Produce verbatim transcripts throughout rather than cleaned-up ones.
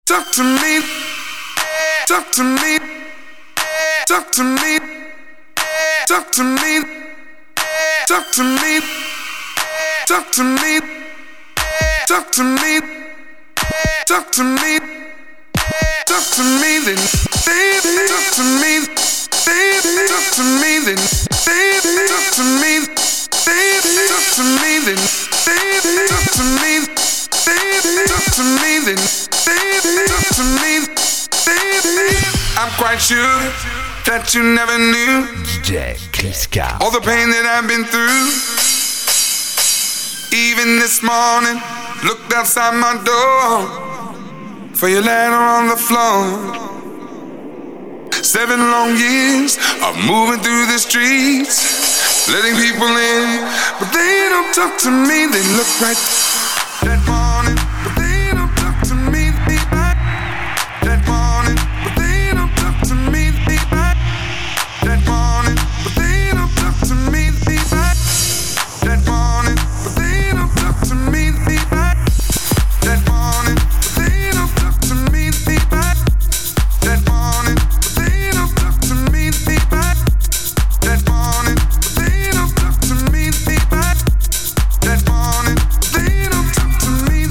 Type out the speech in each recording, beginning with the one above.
Talk to me, talk to me, talk to me, talk to me, talk to me, talk to me, talk to me, talk to me, talk to me, then baby, talk to me, baby, talk to me, then baby, talk to me, baby, talk to me, then baby, talk to me, baby, talk to me, then baby, talk to me, baby. I'm quite sure that you never knew D J Kliska. All the pain that I've been through. Even this morning, looked outside my door for your letter on the floor. Seven long years of moving through the streets, letting people in, but they don't talk to me. They look right that morning, but they don't talk to me. That morning, but they don't talk to me. That morning, but they don't talk to me. That morning, but they don't talk to me. That morning, but they don't talk to me. That morning, but they don't talk to me. That morning, but they don't talk to me. That morning, but they don't talk to me.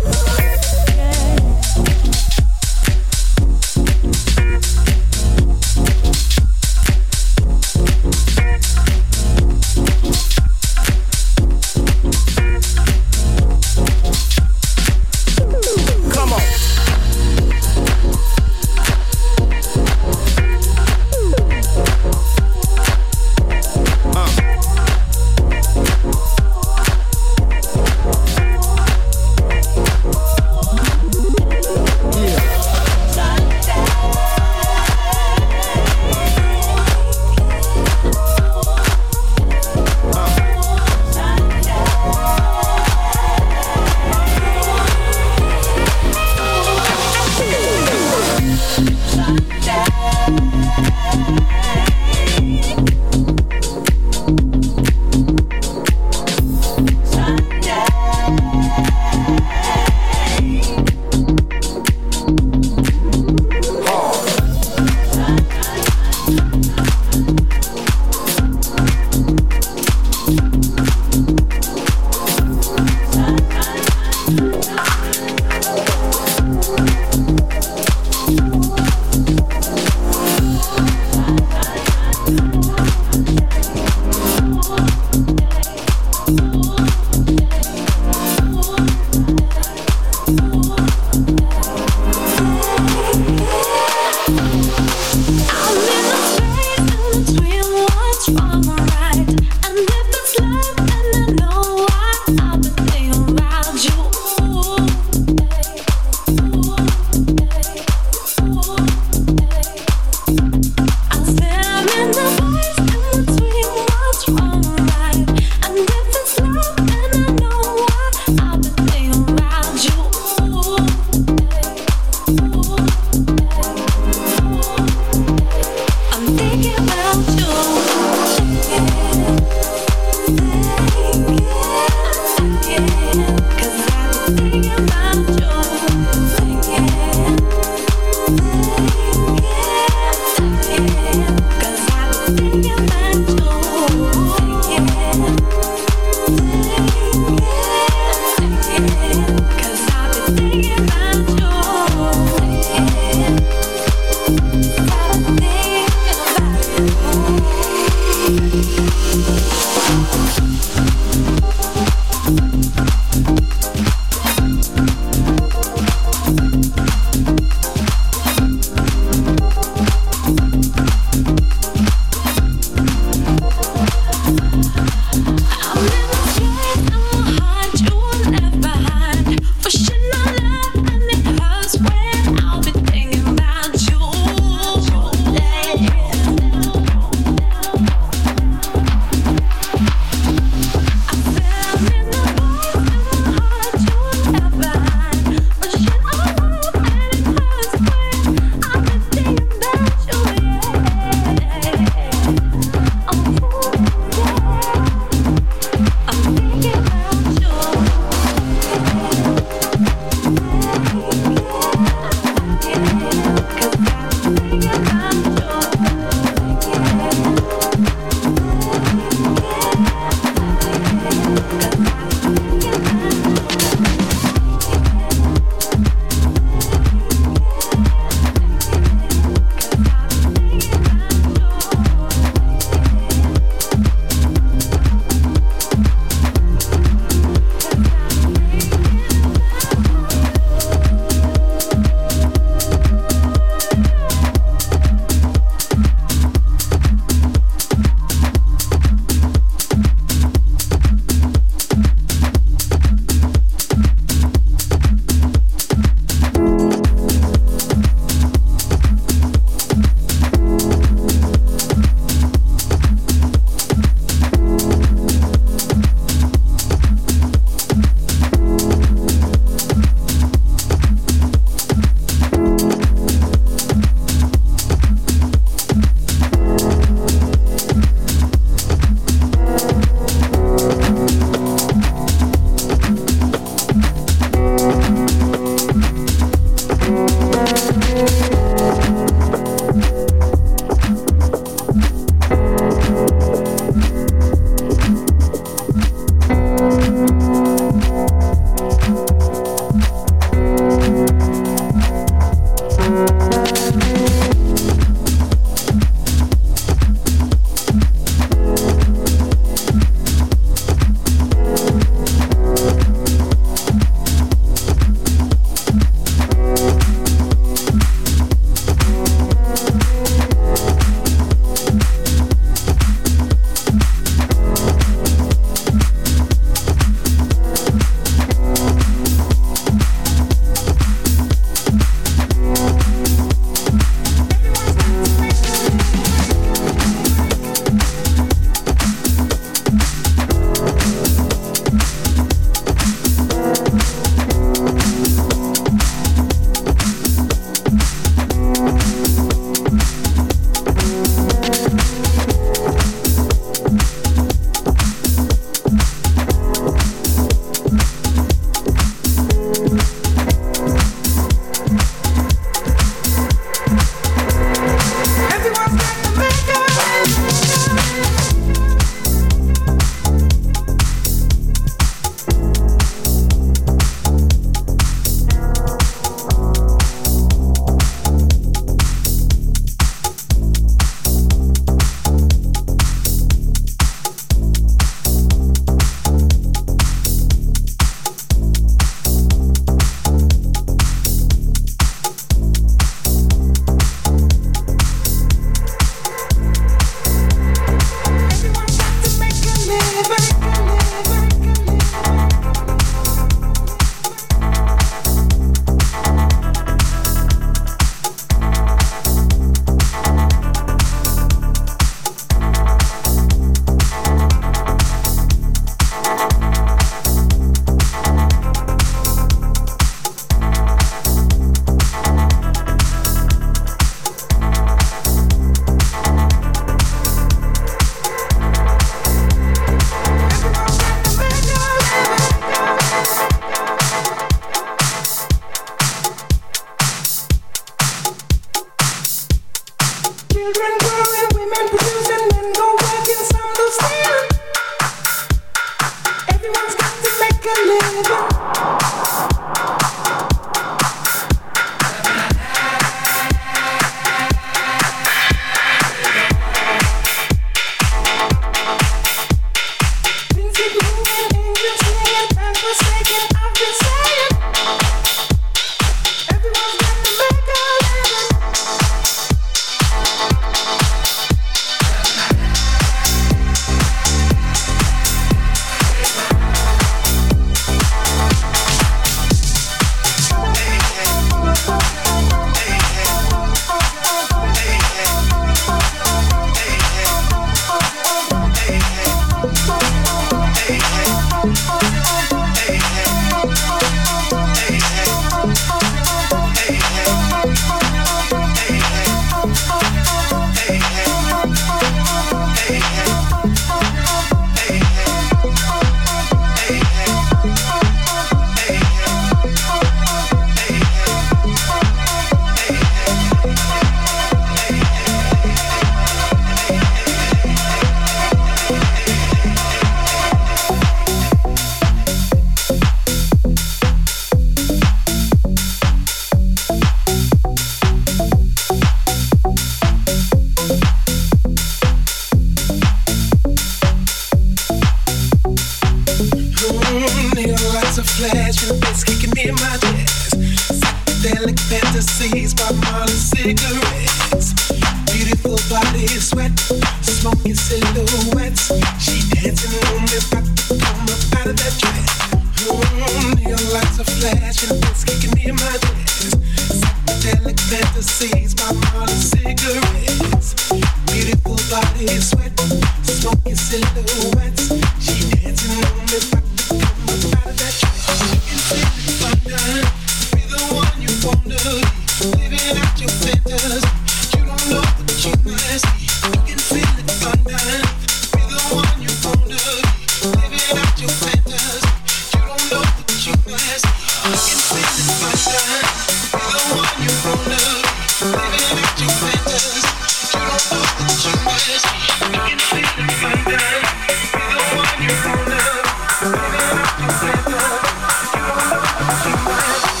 Psychedelic fantasies by Molly cigarettes. Beautiful body sweat, smoking silhouettes. She dancing on me, about to come up out of that dress. Mm, neon lights are flashing, it's kicking in my dress. Psychedelic fantasies by Molly cigarettes. Beautiful body sweat, smoking silhouettes. She dancing on me, about to come up out of that dress. You can feel it thunder, be the one you wanna be, living out your fantasy. You don't know what you must be. You can feel it thunder, be the one you wanna be, living out your fantasy. You don't know what you must be. You can feel it thunder, be the one you wanna be, living out your fantasy. You don't know what you must be. You can feel it thunder, be the one you wanna be, living out your fantasy. You don't know what you must be.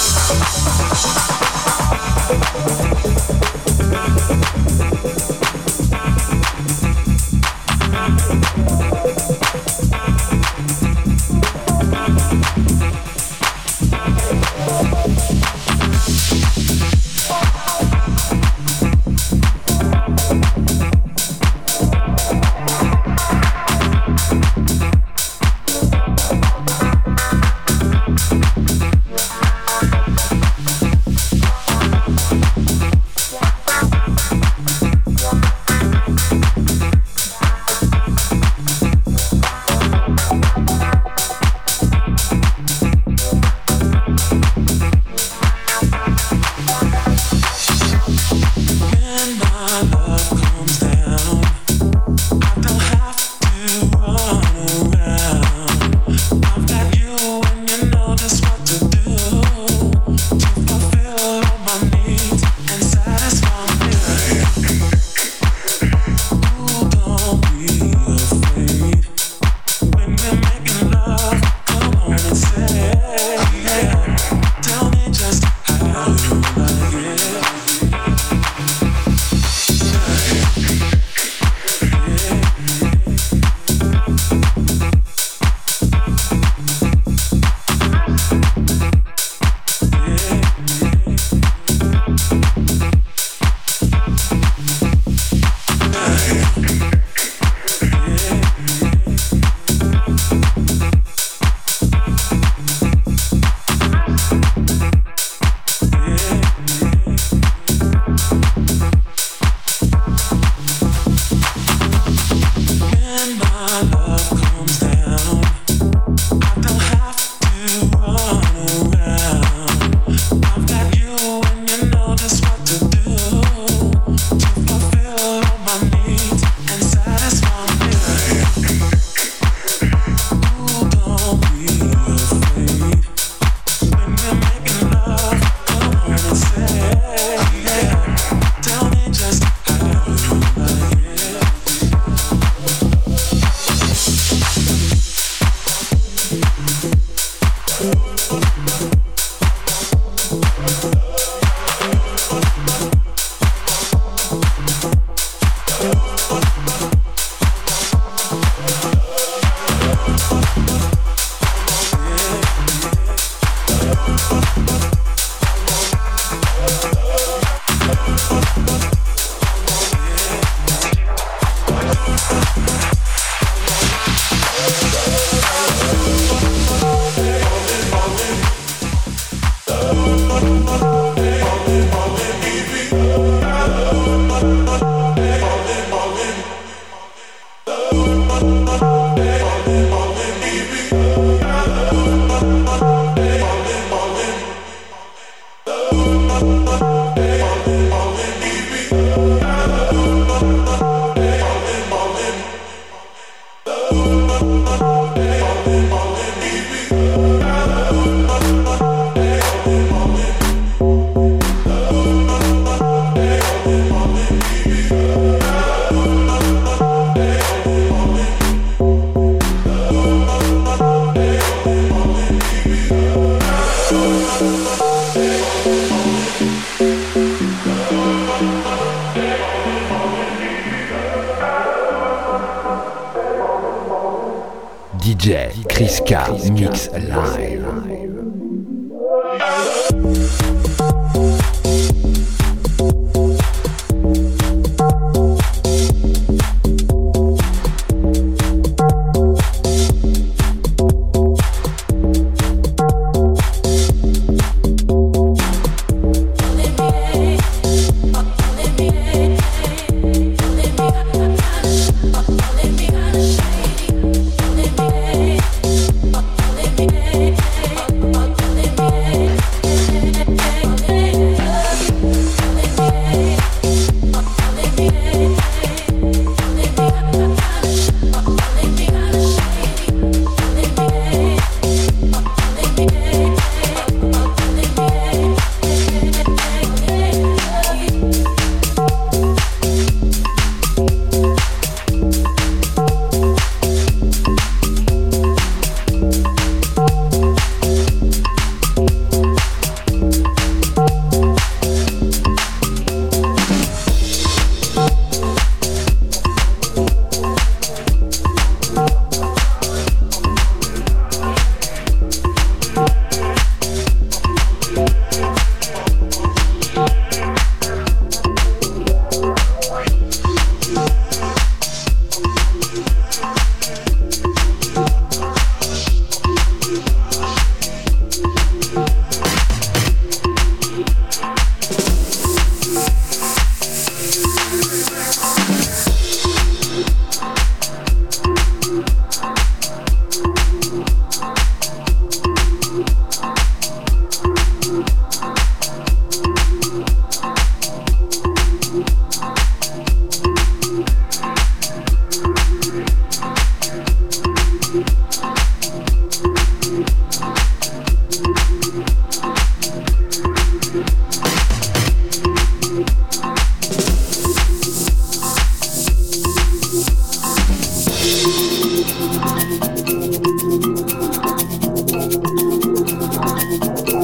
D J Chris K Mix Live.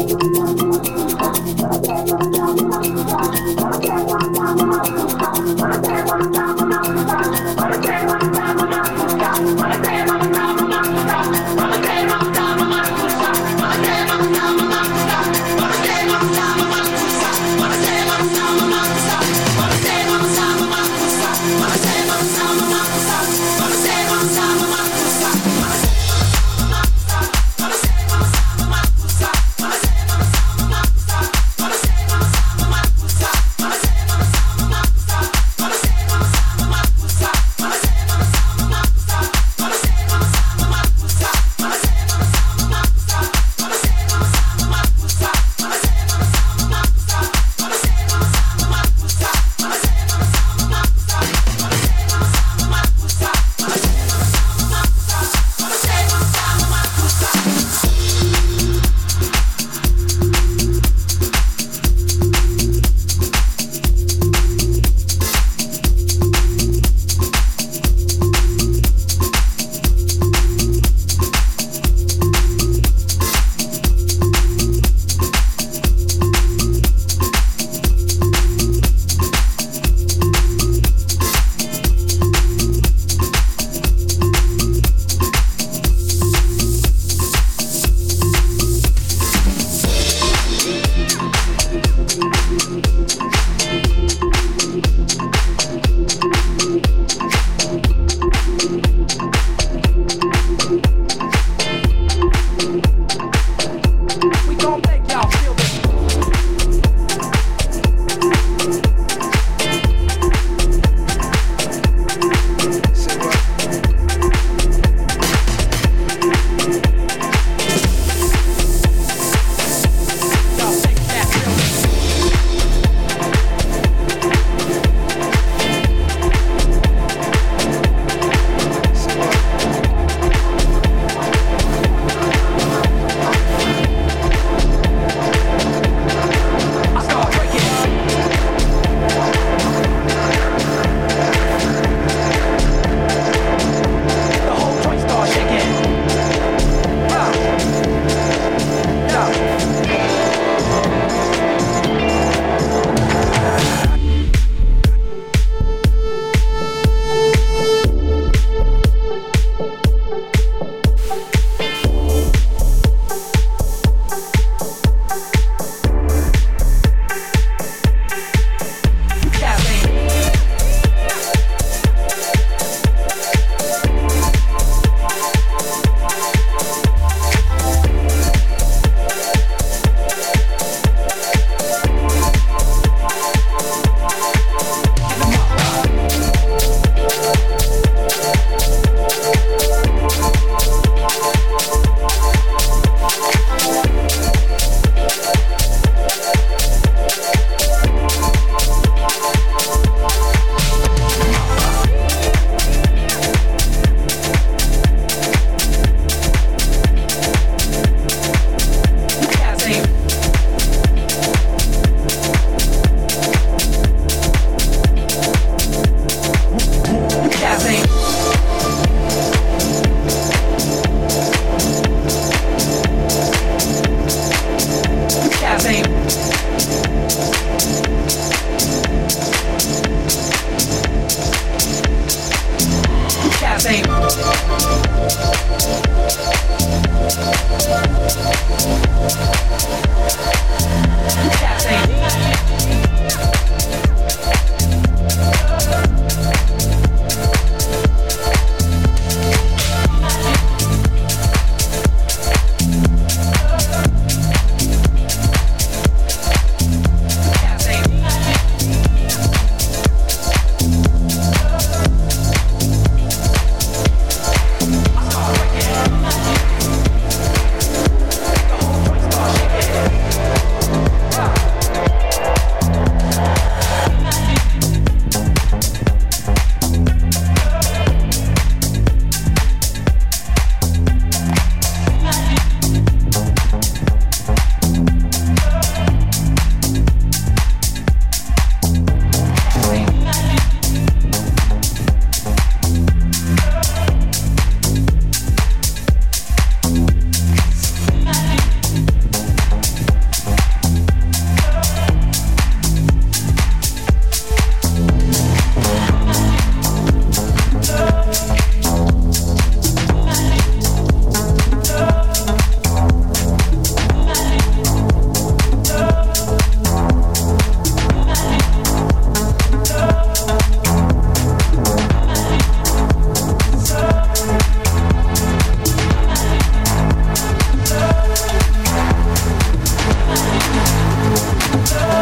Wanna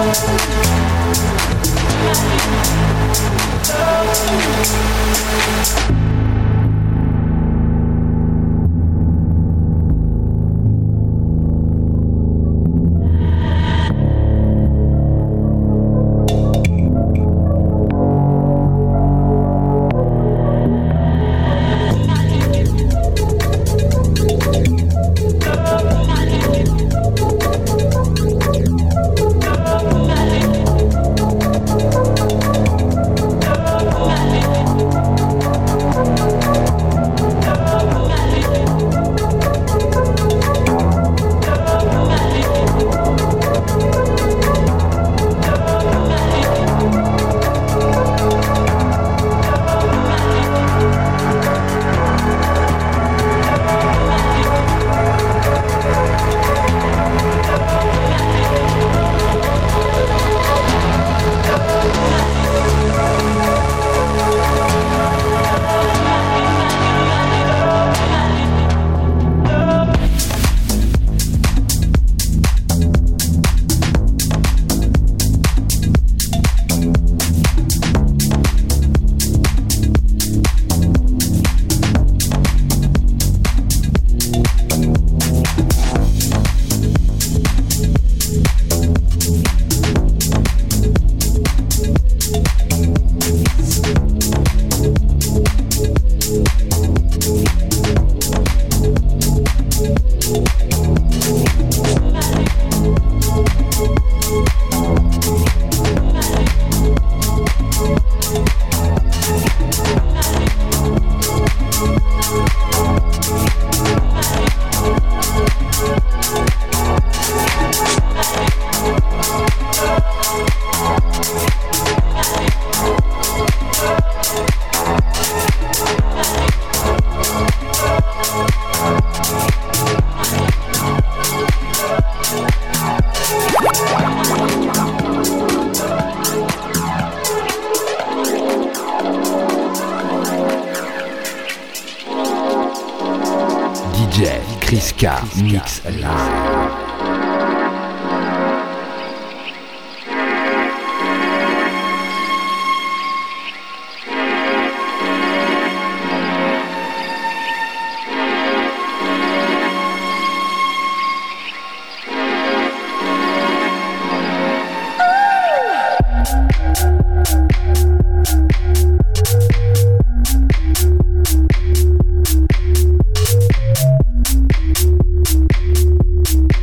Chris K. Mix Live. We'll be right back.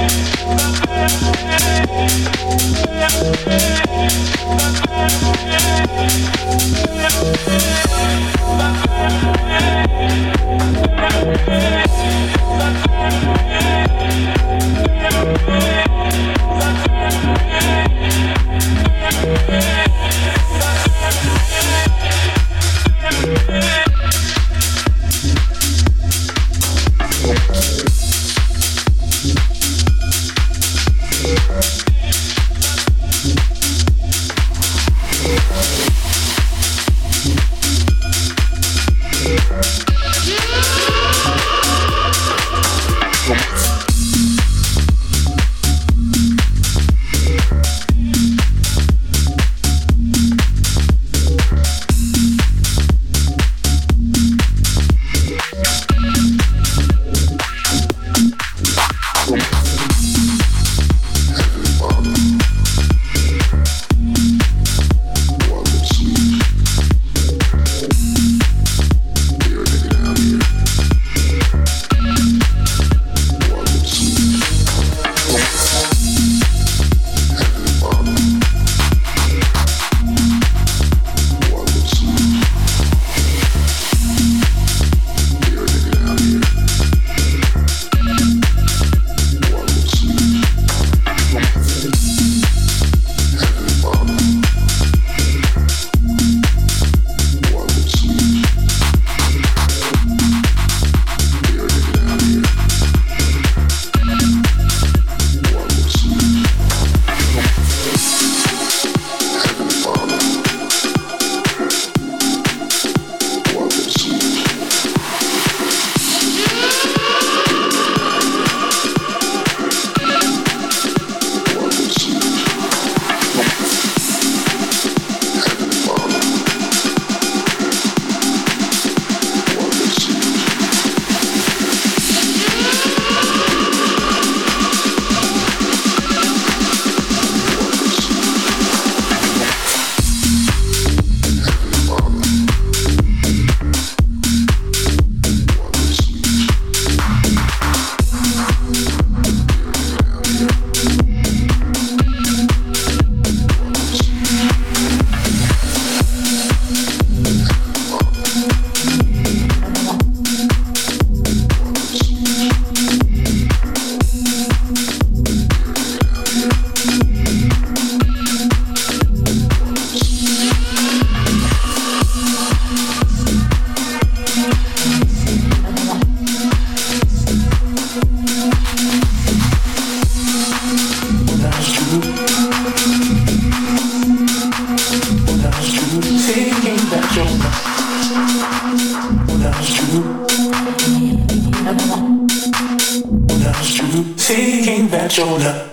Thinking that you're not.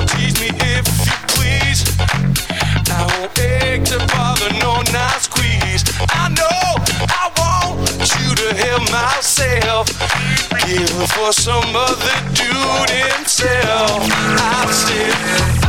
Tease me if you please. I won't beg to bother, no, not squeeze. I know I want you to help myself. Give for some other dude himself. I said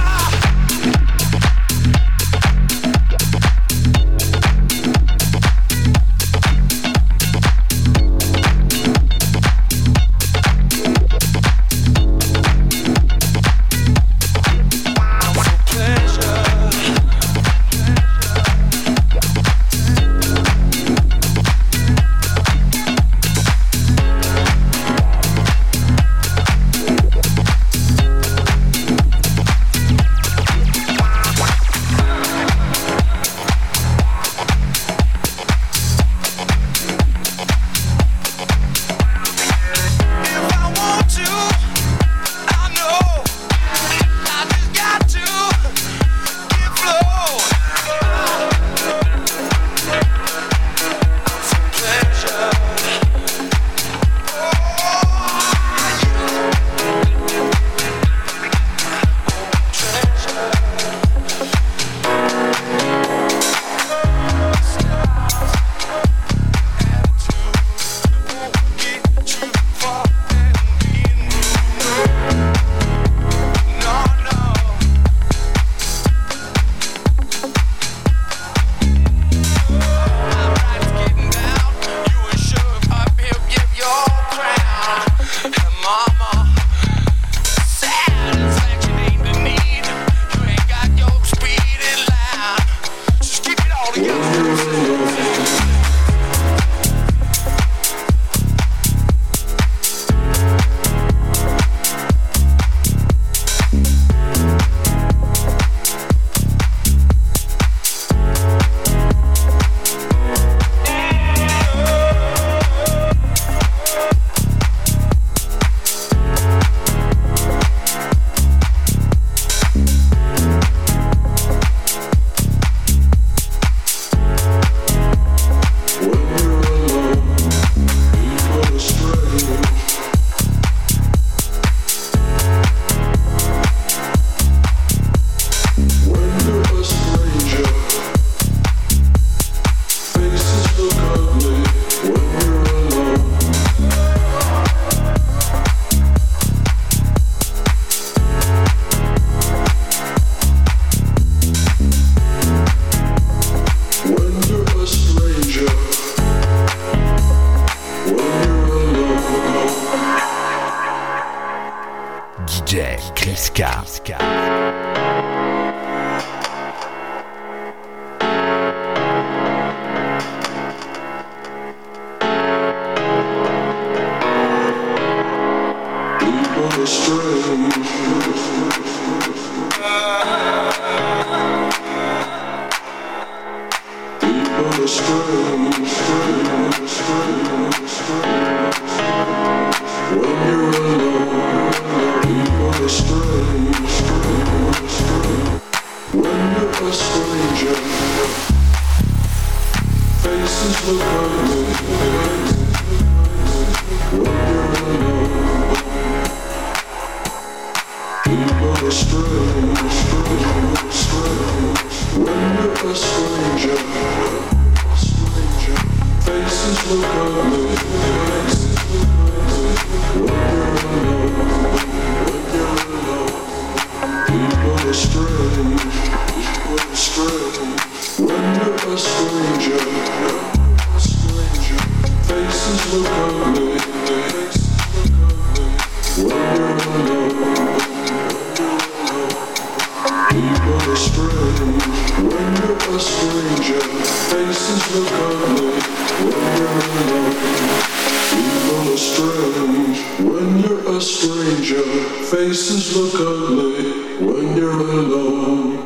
faces look ugly when you're alone.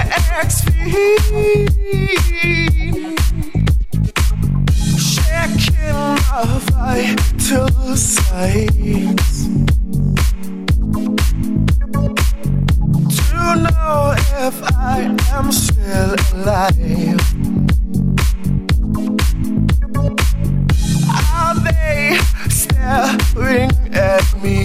sex fiend, shaking my vital signs to know if I am still alive. Are they staring at me?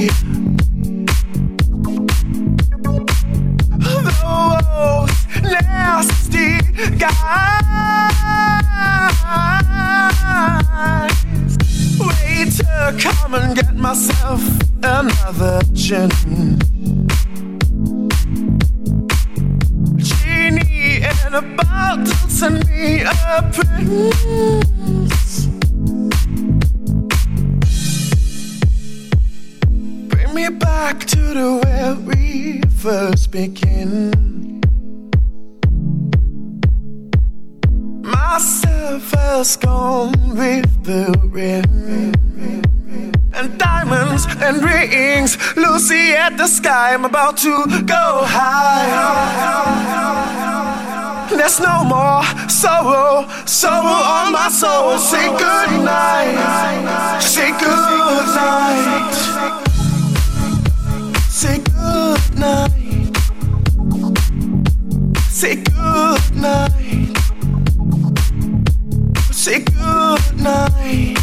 Those nasty guys. Wait to come and get myself another gin. Genie in a bottle, send me a prince. Bring me back to the where we first begin. Myself has gone with the wind, and diamonds and rings, Lucy at the sky. I'm about to go high. There's no more sorrow, sorrow on my soul. Say good night, say good night, say good night, say good night, say good night,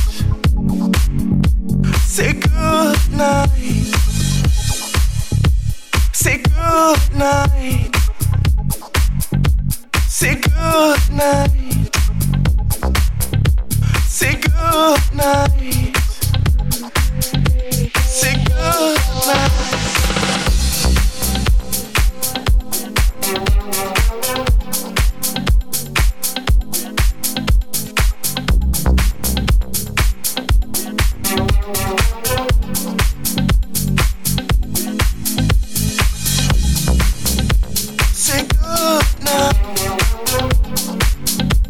say good night, say good night, say good night, say good night, say good night. Say good night.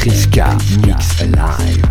Kriska Mix Live.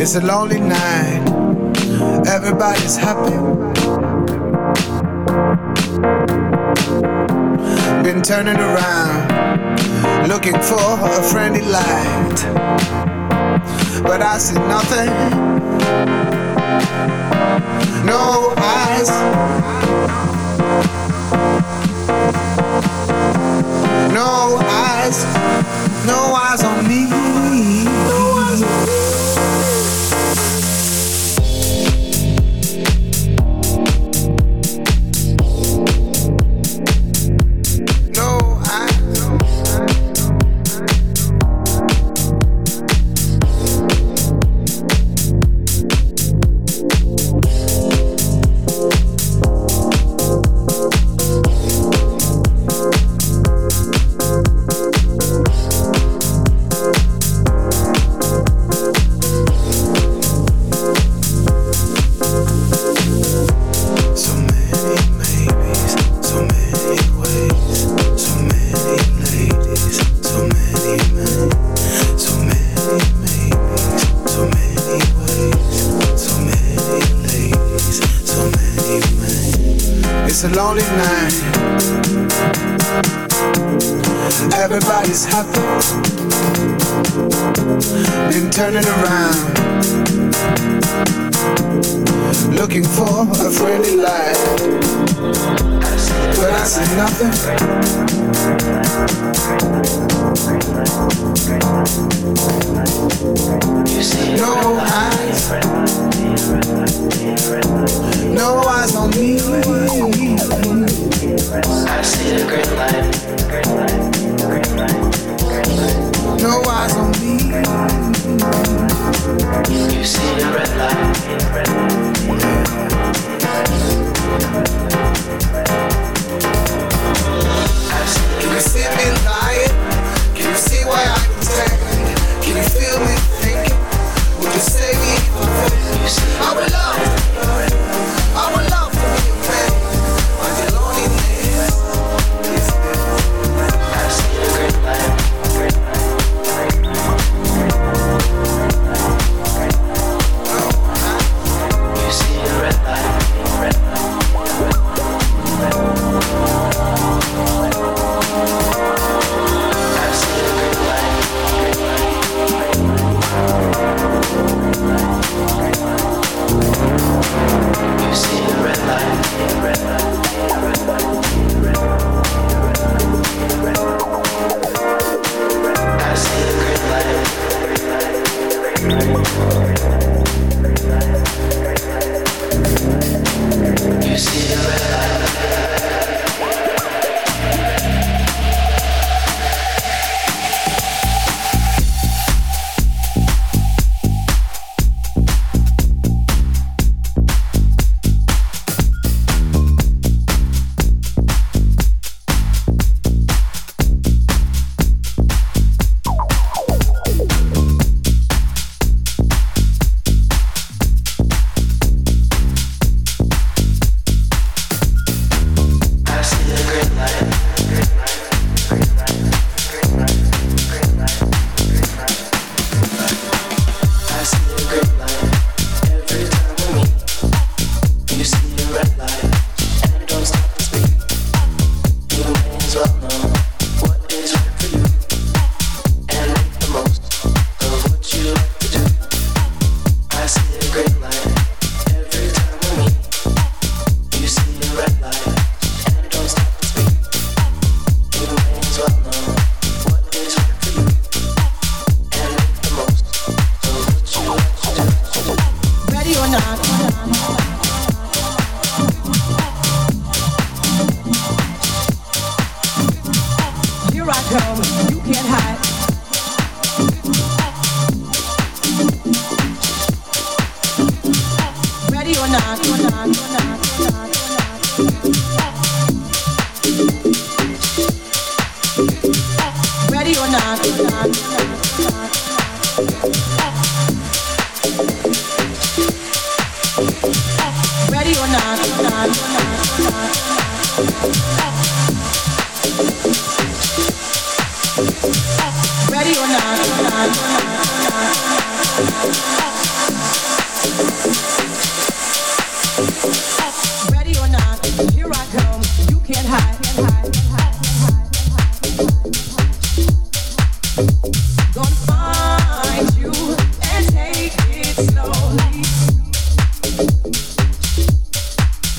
It's a lonely night. Everybody's happy. Been turning around, looking for a friendly light, but I see nothing. No eyes. No eyes. No eyes on me. No eyes on me. It's a lonely night. Everybody's happy. Been turning around, looking for a friendly light, but I see nothing. No eyes. No eyes on me. I see the green light. No eyes on me. You see the red light. Can you see me lying? Can you see why I can stand? Can you feel me thinking? Would you save me from this? I would love, I would love to be a man. But the loneliness is there. I see the green light. You see the red light. I see the green light. You see the red light. I see the green light. You see the red light. Ready or not?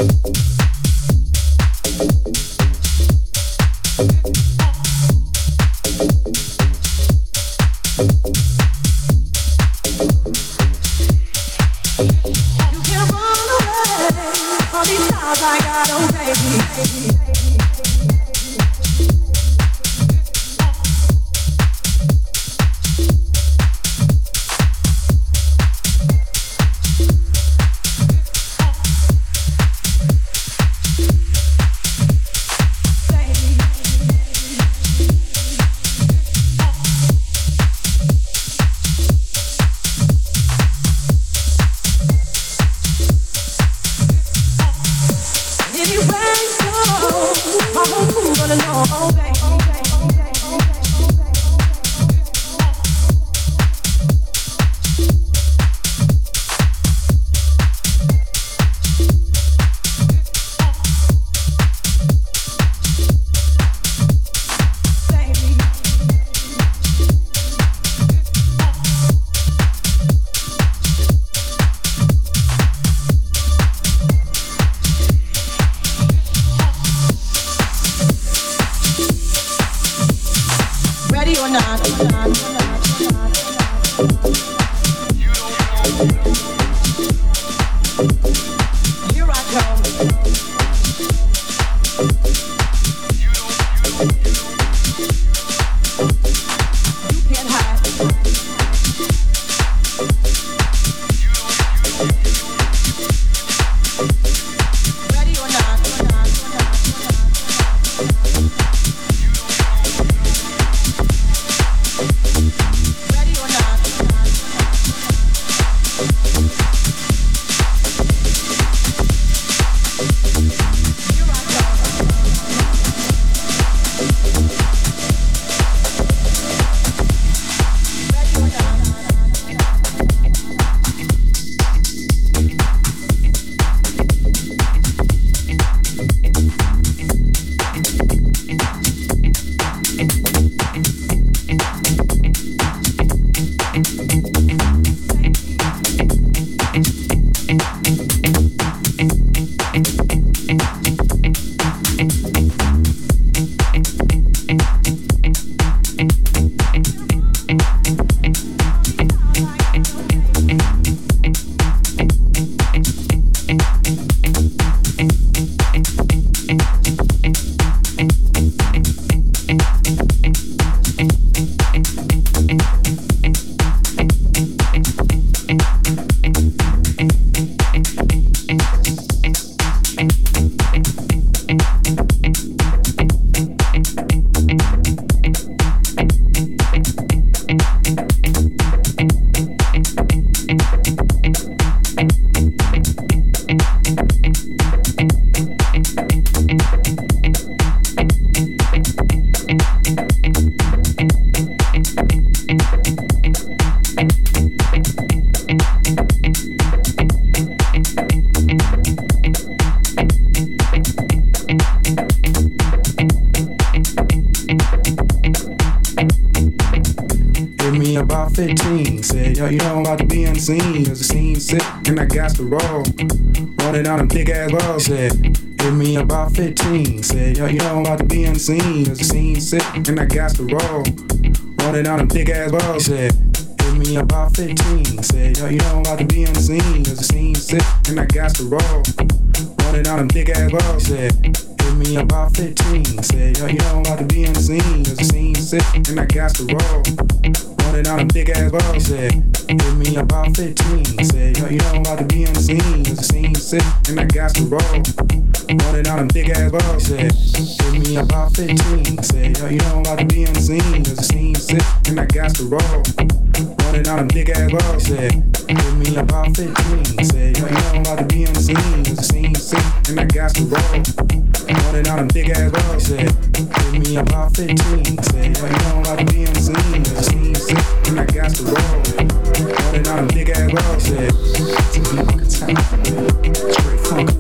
fifteen. Said, yo, you know I'm about to be on the scene. Cause the scene's sick and I got to roll. Rolling down them big ass balls. Said, give me about fifteen. Said, yo, you know I'm about to be on the scene. Cause the scene's sick and I got to roll. Rolling down them big ass balls. Said, give me about fifteen. Said, yo, you know I'm about to be on the scene. Cause the scene's sick and I got to roll. Rolling down them big ass balls. Said, give me about fifteen. Said, yo, you know I'm about to be on the scene. Cause the scene's sick and I got to roll. Rolling down them big ass balls. Said, give me about fifteen. Said, yo, you know I'm about to be on the scene. Cause the scene's sick and I got to roll. Rolling down them big ass balls. Said, give me about fifteen. Said, yo, you know I'm about to be on the scene. Cause the scene's sick and I got to roll. Rolling down them big ass balls. Said, give me about fifteen. Said, yo, you know I'm about to be on the scene. Cause the scene's sick and I got to roll. Rolling down them big ass balls. Said, give me about fifteen. Said, yo, you know I'm about to be on the scene. Cause the scene's sick and I got to roll. Rolling down them big ass balls. Said, to be fucking tight. Straight funk.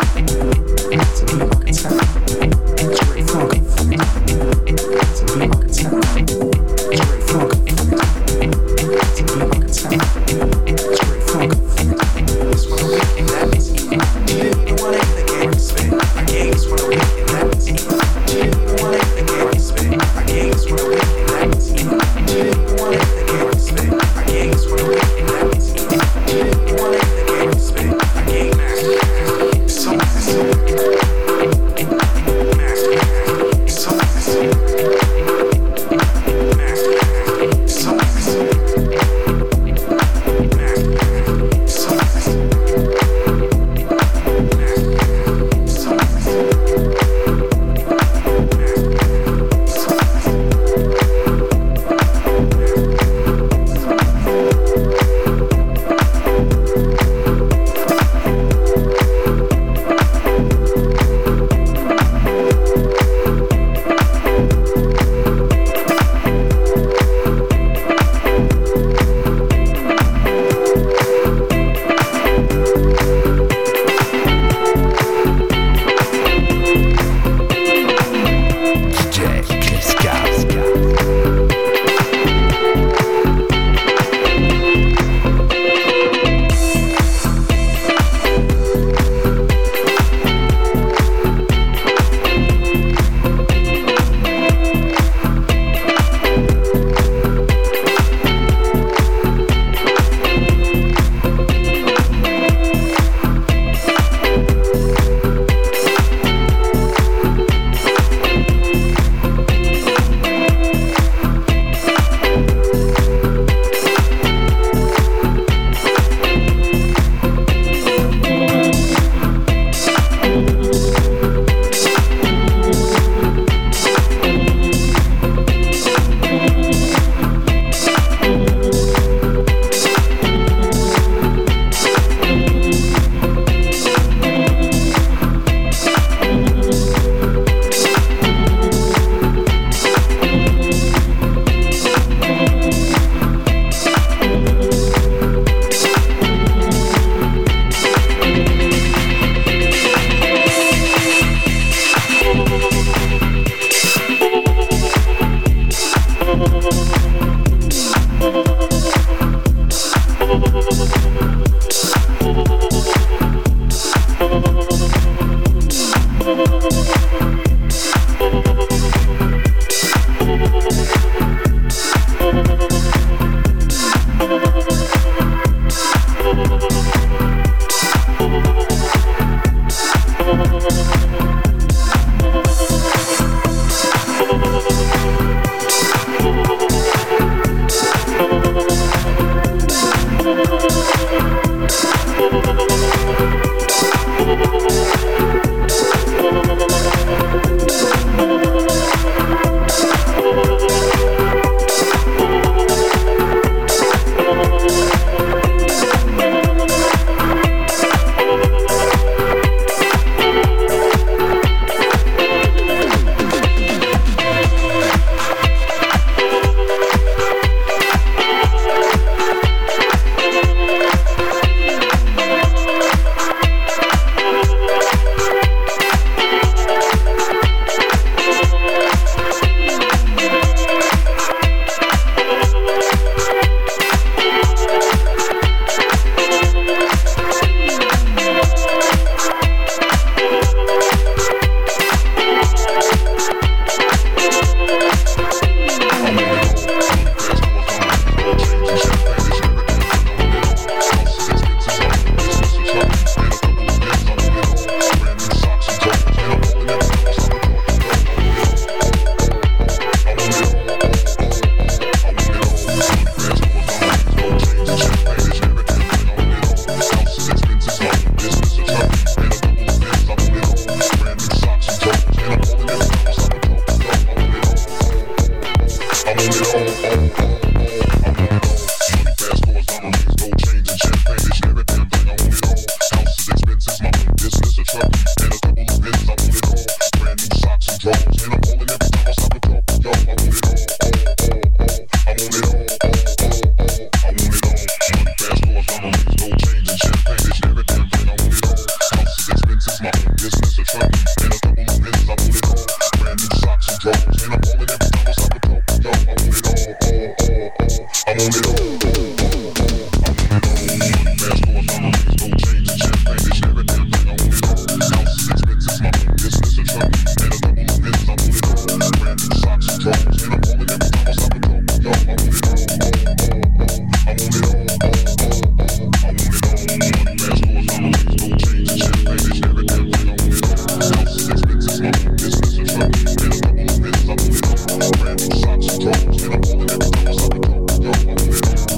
To be fucking tight. Straight funk. To be fucking tight. Straight funk. To be fucking tight. Straight funk. That's what I'm thinking. That means you didn't even want to hit the game. business, a truck, and a couple of pins, I want it all. Brand new socks and drawers, and I'm rolling every time I stop a go. Yo, I want it all, all, all, all. I want it all, all, all, all. I want it all. Fast forward, diamonds, gold chains, and champagne, they share everything. I want it all. Houses, expenses, my own business, a truck, and a couple of pins, I want it all. Brand new socks and drawers, and I'm rolling every time I stop a go. Yo, I want it all, all, all, all. I want it all, all, all, all. I want it all. Fast forward, diamonds, gold chains, and champagne, they share everything. I want it all. Houses, expenses, my own business, a truck, and a couple of pins, I want it all. Brand new socks and drawers, and I'm rolling every time I stop a go. Yo, I want it all.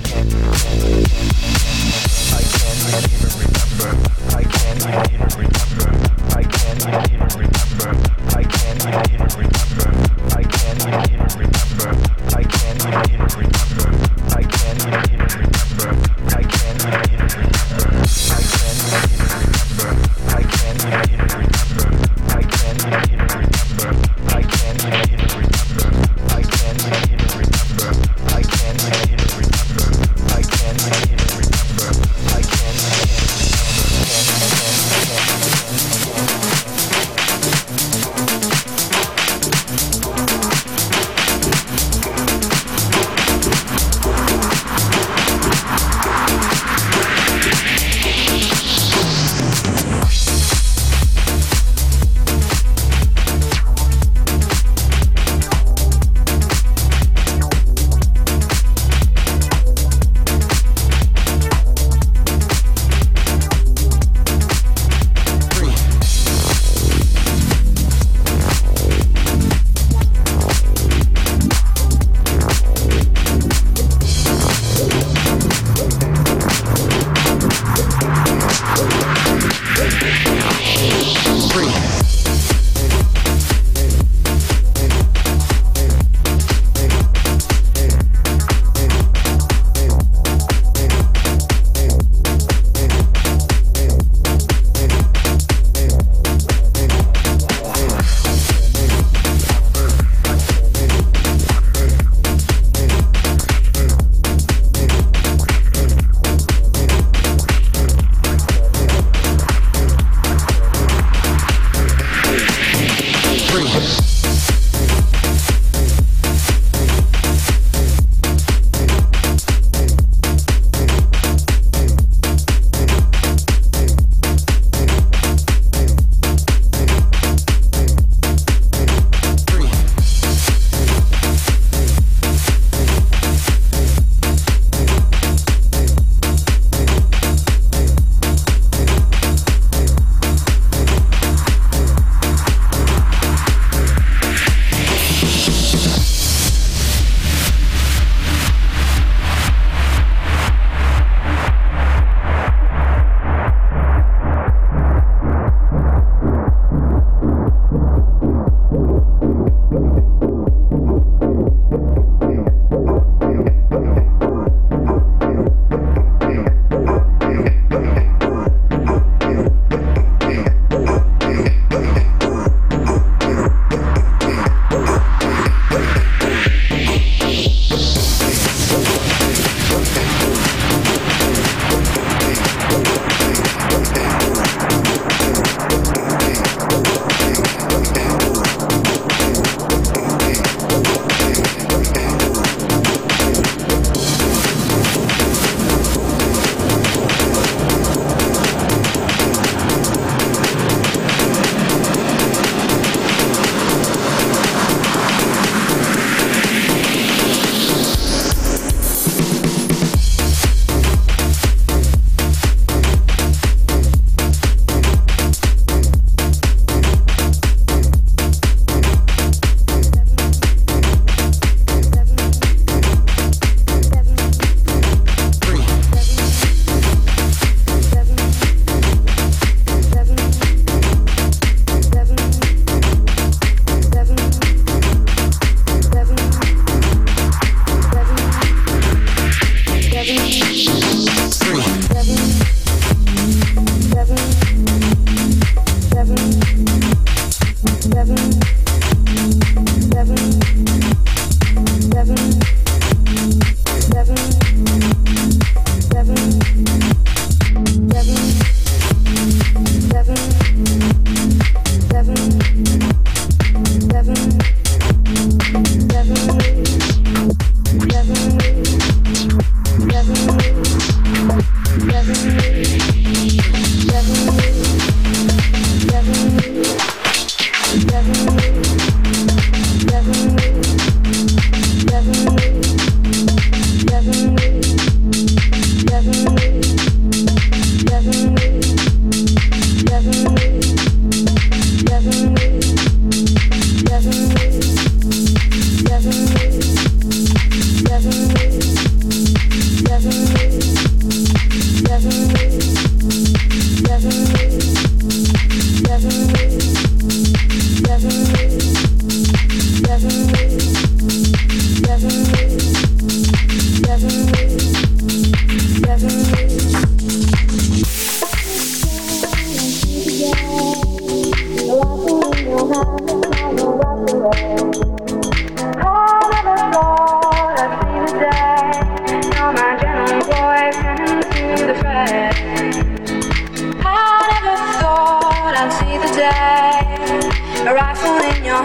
Seven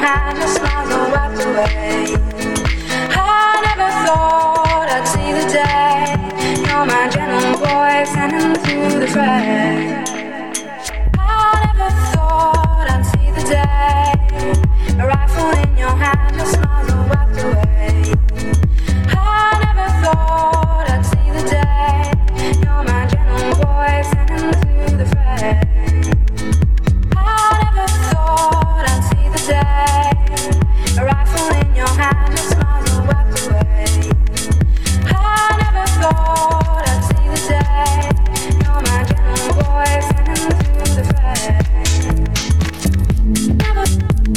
hand, the smiles all wiped away. I never thought I'd see the day. You're my gentle voice sending through the fray. I never thought I'd see the day. A rifle in your hand, the smiles all wiped away. I never thought I'd see the day. You're my gentle voice sending through the fray. I never thought I'd see the day. A rifle in your hand, the smiles all wiped away. I never thought I'd see the day. You're my gentle voice sending through the fray. Never.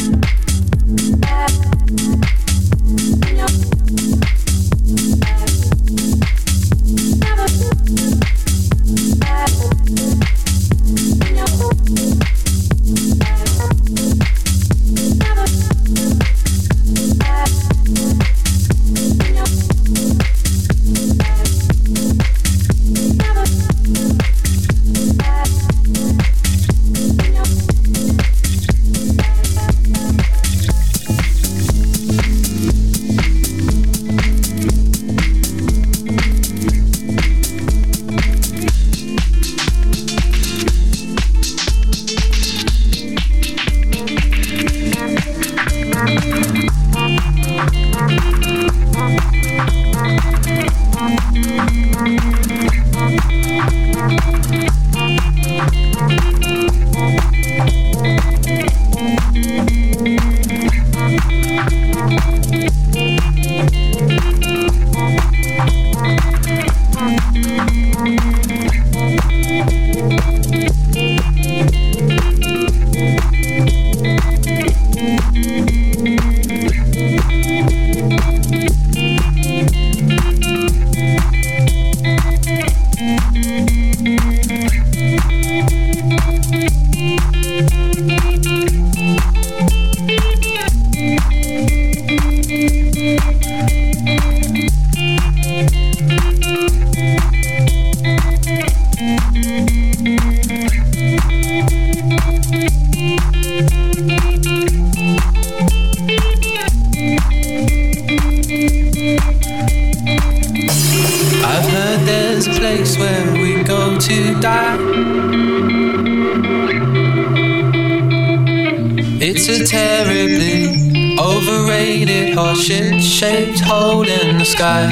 Shaped hole in the sky.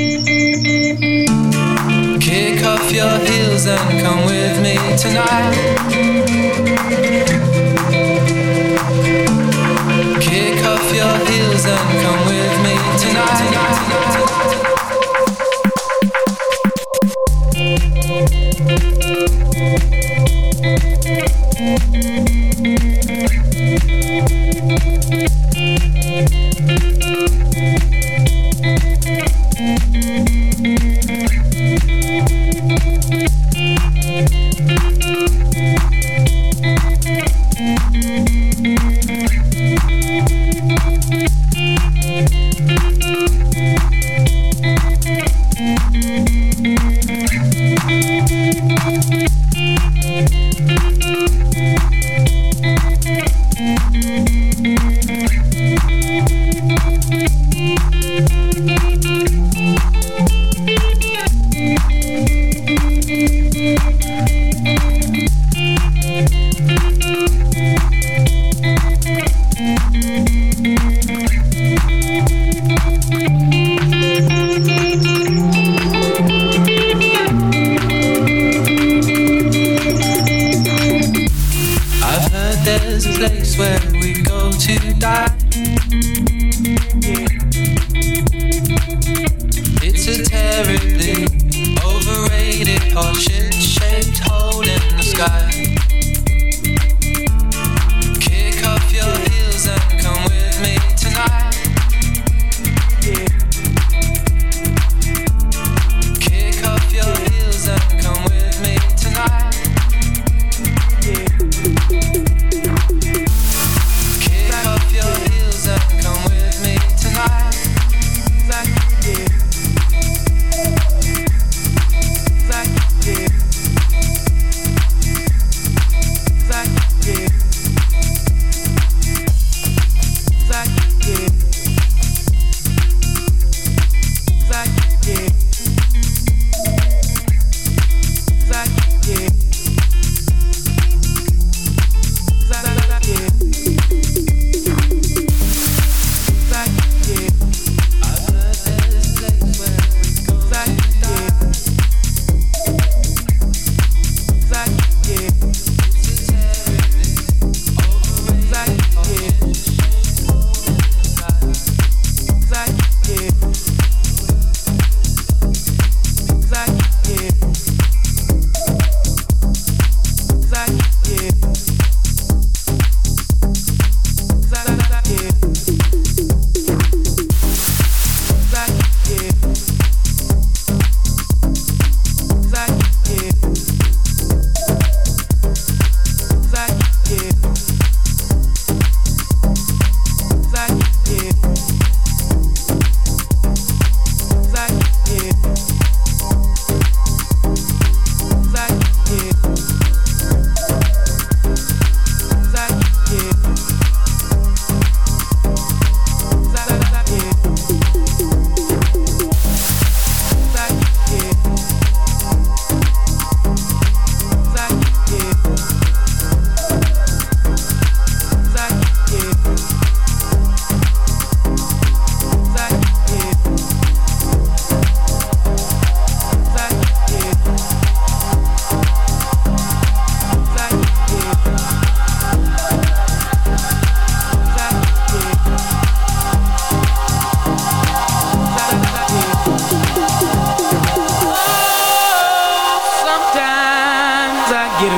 Kick off your heels and come with me tonight. Kick off your heels and come with me tonight.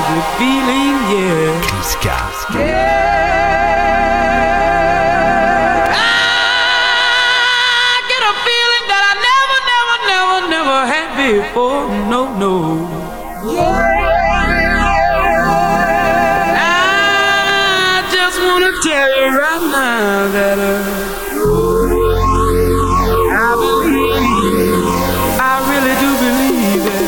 happy feeling, yeah. Kiska. Yeah. I get a feeling that I never, never, never, never had before. No, no. Yeah. I just wanna tell you right now that uh, I believe, I really do believe it.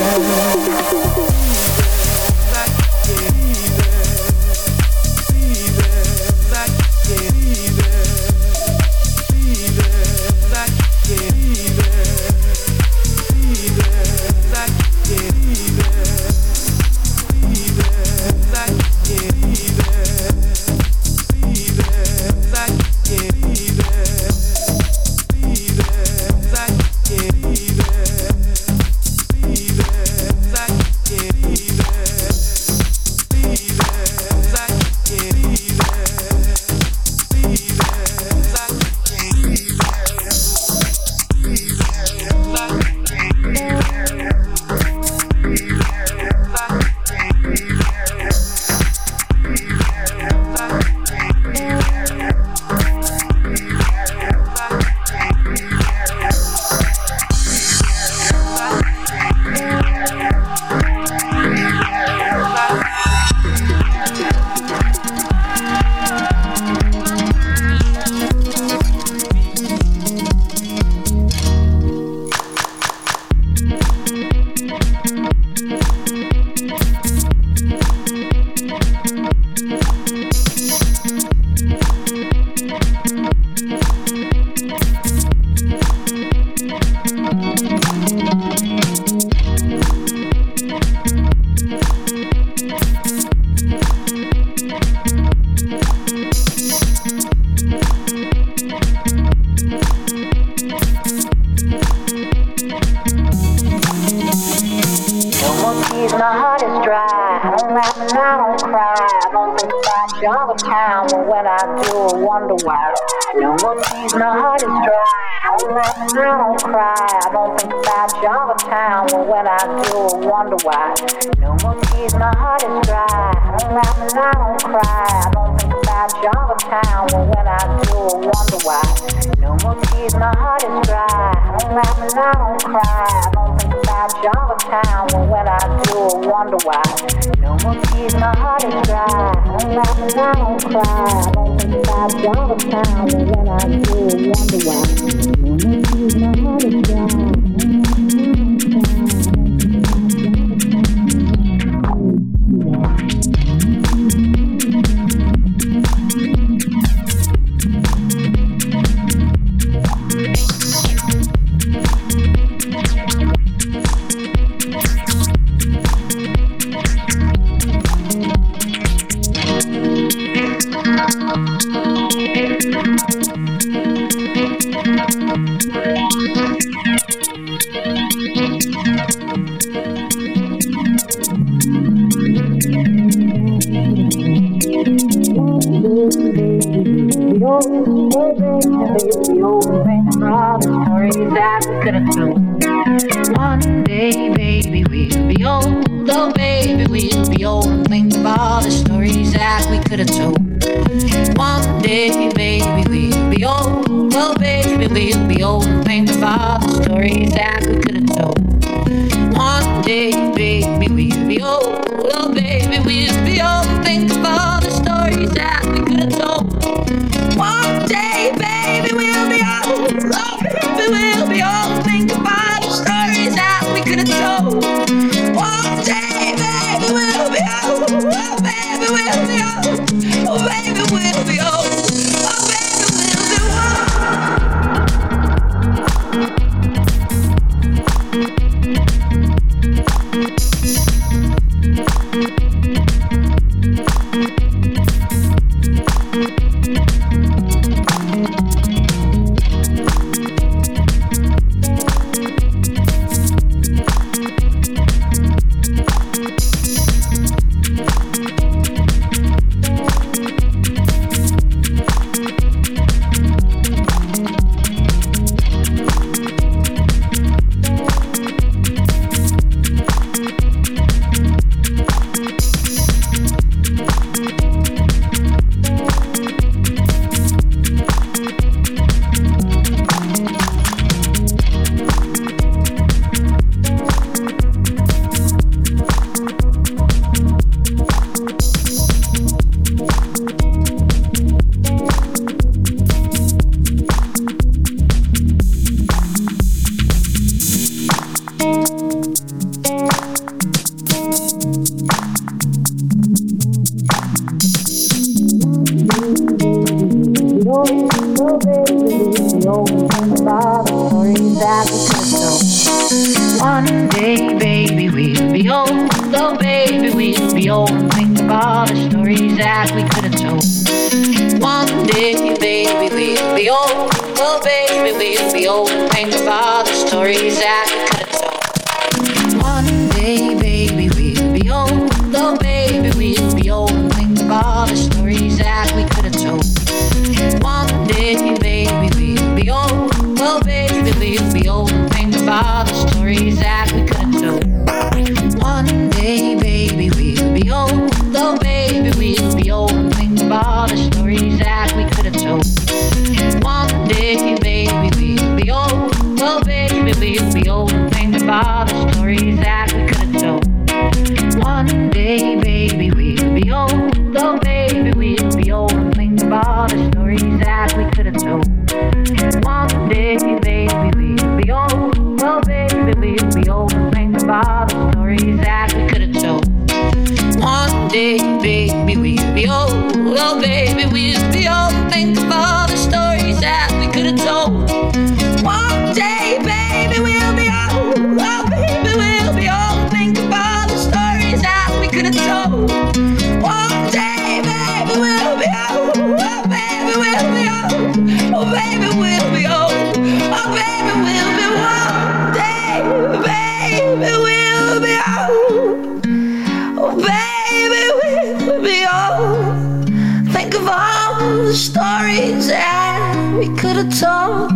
old and think of all the stories that we could have told. One day, baby, we'll be old. Oh, baby, we'll be old and think of all the stories that we could have told. One day, baby, we'll be old. Oh, baby, we'll be old and think of all the stories that we could have told. One day, baby, we'll be old. Oh, baby, we'll be old and think of all the stories that we could have told. One day, baby, we'll be old. Oh, baby, we'll be old and think of all the stories that we could have told. One day, baby, we'll be old. Oh, baby, we'll be old and think of all the stories that we could have told. One day, baby, we'll be old. Oh, baby, we'll be old and think of all the stories that we could have told. One day, baby, we'll be old. Oh, baby, we'll be old and think of all the stories that we could have told. One day, baby, we'll be old. Oh, baby, we'll be old and think of all the stories that we could have told. One day, baby, we'll be old. Oh, baby, we'll be old and think of all the stories that we could have told. One day, baby, we'll be old. Oh, baby, we'll be old. Oh, baby, we'll be old. Oh, baby, we'll be one day, baby, we'll be old. Oh, baby, we'll be old. Think of all the stories that we could have told.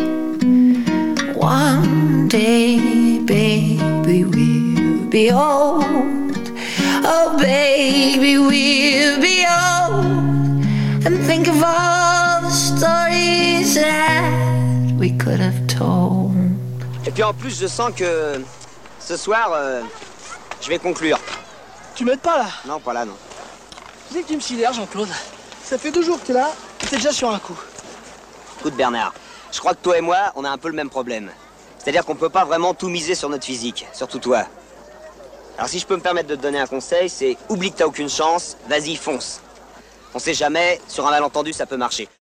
One day, baby, we'll be old. Oh, baby, we'll be old. And think of all the stories that we could have told. Et puis en plus, je sens que ce soir, euh, je vais conclure. Tu m'aides pas là? Non, pas là, non. Tu sais que tu me sidères, Jean-Claude. Ça fait deux jours que t'es là, et t'es déjà sur un coup. Écoute, Bernard, je crois que toi et moi, on a un peu le même problème. C'est-à-dire qu'on peut pas vraiment tout miser sur notre physique, surtout toi. Alors si je peux me permettre de te donner un conseil, c'est oublie que t'as aucune chance, vas-y, fonce. On sait jamais, sur un malentendu, ça peut marcher.